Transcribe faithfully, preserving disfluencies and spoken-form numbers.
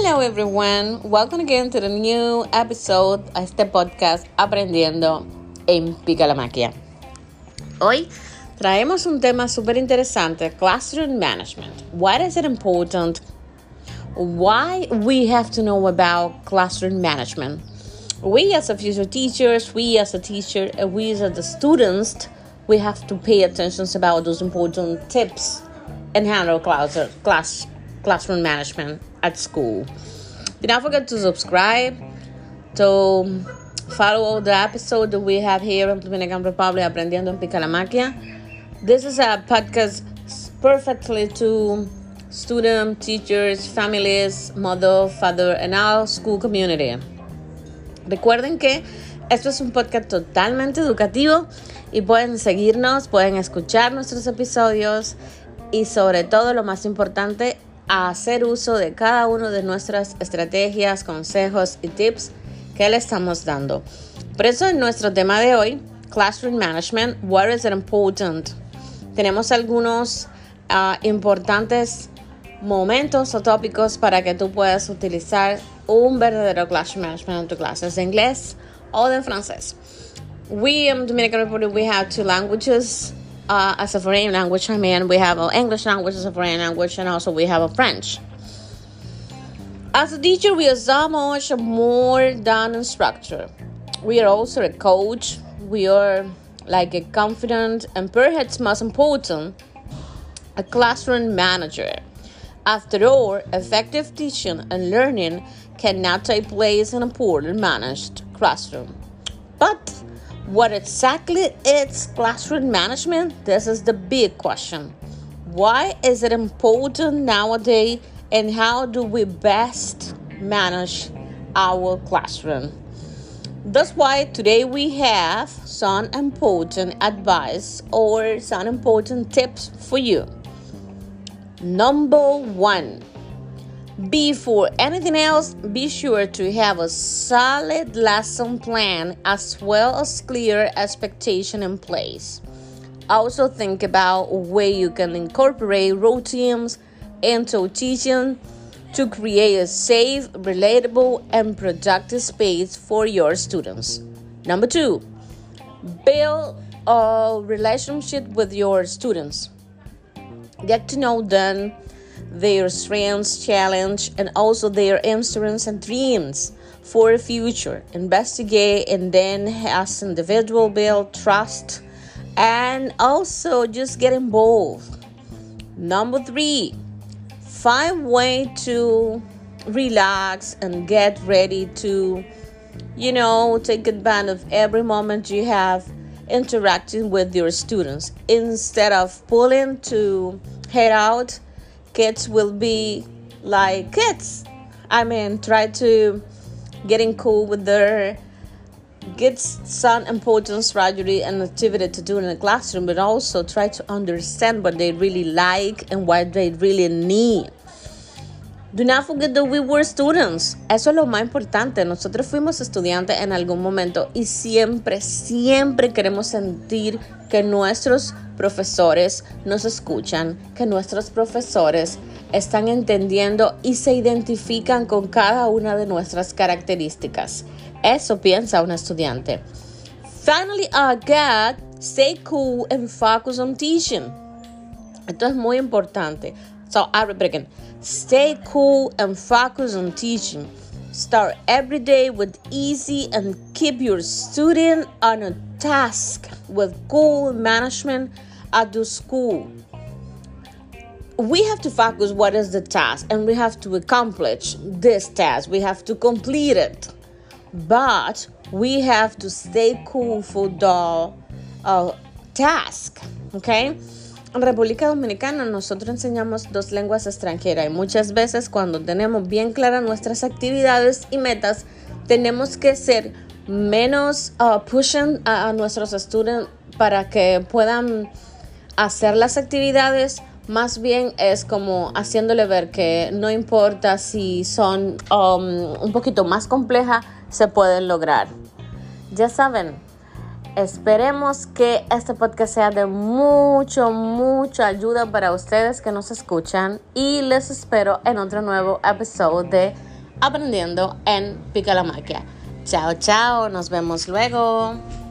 Hello everyone, welcome again to the new episode a este podcast Aprendiendo en Pica la Magia. Hoy traemos un tema súper interesante, Classroom Management. Why is it important? Why we have to know about classroom management? We as a future teachers, we as a teacher, and we as the students, we have to pay attention about those important tips and handle class, class classroom management at school. Do not forget to subscribe, to follow the episode that we have here in Dominican Republic, Aprendiendo en Pica la Magia. This is a podcast perfectly to students, teachers, families, mother, father, and our school community. Recuerden que esto es un podcast totalmente educativo y pueden seguirnos, pueden escuchar nuestros episodios y sobre todo lo más importante, a hacer uso de cada una de nuestras estrategias, consejos y tips que le estamos dando. Por eso en nuestro tema de hoy, Classroom Management, what is it important? Tenemos algunos uh, importantes momentos o tópicos para que tú puedas utilizar un verdadero Classroom Management en tu clases de inglés o de francés. We in Dominican Republic, we have two languages. Uh, as a foreign language, I mean, we have an English language as a foreign language, and also we have a French. As a teacher, we are so much more than a instructor. We are also a coach. We are like a confident and perhaps most important, a classroom manager. After all, effective teaching and learning cannot take place in a poorly managed classroom. But what exactly is classroom management? This is the big question. Why is it important nowadays, and how do we best manage our classroom? That's why today we have some important advice or some important tips for you. Number one, before anything else, be sure to have a solid lesson plan as well as clear expectation in place. Also think about where you can incorporate routines into teaching to create a safe, relatable, and productive space for your students. Number two, build a relationship with your students. Get to know them, their strengths, challenge, and also their interests and dreams for the future. Investigate and then as individual build trust and also just get involved. Number three, find way to relax and get ready to, you know, take advantage of every moment you have interacting with your students. Instead of pulling to head out, kids will be like kids. I mean, try to getting cool with their get some important strategy and activity to do in the classroom, but also try to understand what they really like and what they really need. Do not forget that we were students. Eso es lo más importante. Nosotros fuimos estudiantes en algún momento y siempre, siempre queremos sentir que nuestros profesores nos escuchan, que nuestros profesores están entendiendo y se identifican con cada una de nuestras características. Eso piensa un estudiante. Finally, again, stay cool and focus on teaching. Esto es muy importante. So, I repeat again. Stay cool and focus on teaching. Start every day with easy and keep your student on a task with goal management at the school. We have to focus what is the task and we have to accomplish this task. We have to complete it. But we have to stay cool for the uh, task. Okay? En República Dominicana nosotros enseñamos dos lenguas extranjeras y muchas veces cuando tenemos bien claras nuestras actividades y metas, tenemos que ser menos uh, pushing a, a nuestros estudiantes para que puedan hacer las actividades. Más bien es como haciéndole ver que no importa si son um, un poquito más complejas, se pueden lograr. Ya saben. Esperemos que este podcast sea de mucho, mucha ayuda para ustedes que nos escuchan y les espero en otro nuevo episodio de aprendiendo en Pica la Magia. Chao, chao, nos vemos luego.